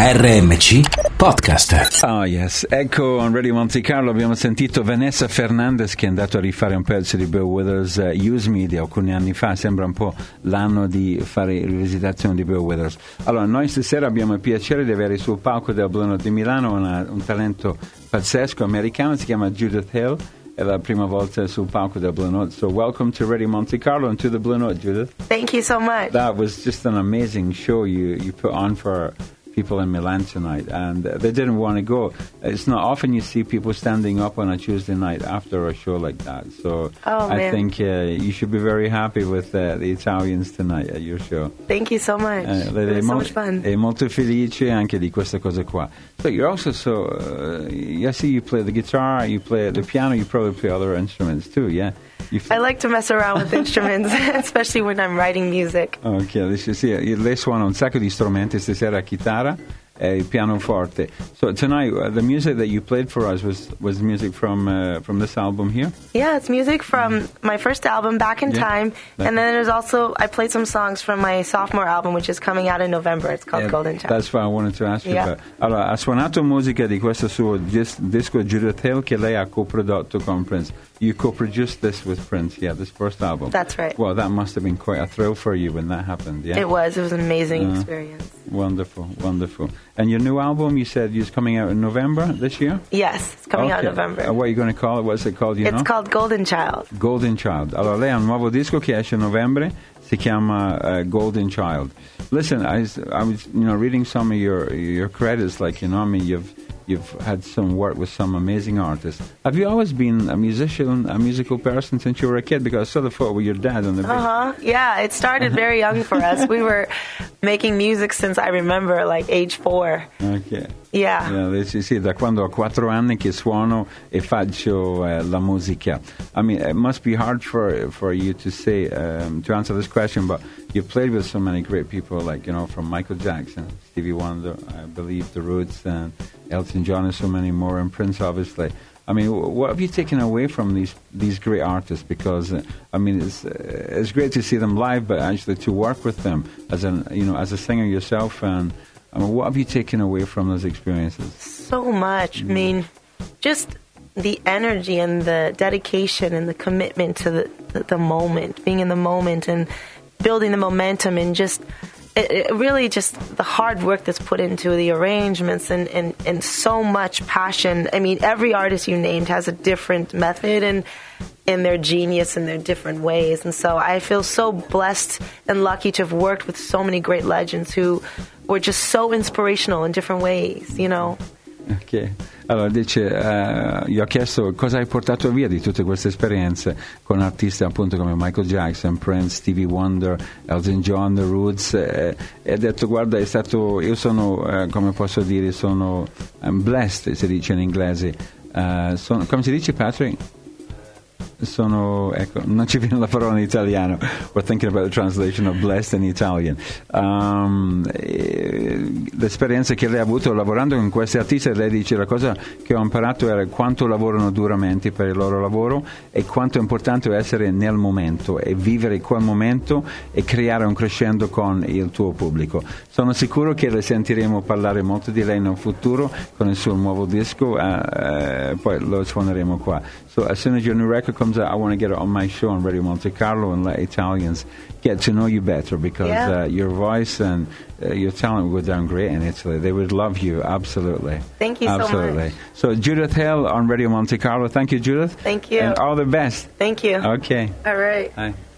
RMC Podcast. Oh yes, ecco, on Radio Monte Carlo abbiamo sentito Vanessa Fernandez che è andato a rifare un pezzo di Bill Withers, Use Me, di alcuni anni fa. Sembra un po' l'anno di fare rivisitazione di Bill Withers. Allora, noi stasera abbiamo il piacere di avere sul palco del Blue Note di Milano un talento pazzesco americano, si chiama Judith Hill. È la prima volta sul palco del Blue Note. So welcome to Radio Monte Carlo and to the Blue Note, Judith. Thank you so much. That was just an amazing show you put on for people in Milan tonight, and they didn't want to go. It's not often you see people standing up on a Tuesday night after a show like that. So I think you should be very happy with the Italians tonight at your show. Thank you so much. It was so much fun. E molto felice anche di questa cosa qua. So you're also I see you play the guitar, you play the piano, you probably play other instruments too, yeah? I like to mess around with instruments, especially when I'm writing music. Ok, lei suona un sacco di strumenti stasera, chitarra e il pianoforte. So tonight, the music that you played for us was music from this album here? Yeah, it's music from my first album, Back in Time, and then there's also, I played some songs from my sophomore album, which is coming out in November. It's called Golden Child. That's what I wanted to ask you about. Allora, ha suonato musica di questo suo disco Judith Hill che lei ha coprodotto con Prince. You co-produced this with Prince, this first album. That's right. Well, that must have been quite a thrill for you when that happened, yeah? It was an amazing experience. Wonderful, wonderful. And your new album, you said, is coming out in November this year? Yes, it's coming out in November. What are you going to call it? What's it called? It's called Golden Child. Golden Child. Allora, lei ha un nuovo disco che esce a novembre, si chiama Golden Child. Listen, I was reading some of your credits, you've had some work with some amazing artists. Have you always been a musical person since you were a kid? Because I saw the photo with your dad on the video. Yeah, it started very young for us. We were making music since I remember, like age 4. Okay. Yeah. Sì, da quando ho 4 anni che suono e faccio la musica. I mean, it must be hard for you to say, to answer this question, but you've played with so many great people, from Michael Jackson, Stevie Wonder, I believe The Roots, and Elton John, and so many more, and Prince, obviously. I mean, what have you taken away from these great artists? Because it's great to see them live, but actually to work with them as a singer yourself, and what have you taken away from those experiences? So much. I mean, just the energy and the dedication and the commitment to the moment, being in the moment and building the momentum, and just it really just the hard work that's put into the arrangements and so much passion. I mean, every artist you named has a different method and their genius in their different ways. And so I feel so blessed and lucky to have worked with so many great legends who were just so inspirational in different ways, Ok, allora dice, gli ho chiesto cosa hai portato via di tutte queste esperienze con artisti appunto come Michael Jackson, Prince, Stevie Wonder, Elton John, The Roots, e ha detto guarda, io sono, come posso dire, sono blessed, si dice in inglese, come si dice, Patrick? Non ci viene la parola in italiano. We're thinking about the translation of blessed in Italian. L'esperienza che lei ha avuto lavorando con questi artisti, lei dice la cosa che ho imparato era quanto lavorano duramente per il loro lavoro e quanto è importante essere nel momento e vivere quel momento e creare un crescendo con il tuo pubblico. Sono sicuro che le sentiremo parlare molto di lei nel futuro con il suo nuovo disco, poi lo suoneremo qua. So as soon as your new record comes out, I want to get it on my show on Radio Monte Carlo and let Italians get to know you better, because your voice and your talent would go down great in Italy. They would love you, absolutely. Thank you so much. So Judith Hill on Radio Monte Carlo. Thank you, Judith. Thank you. And all the best. Thank you. Okay. All right. Bye.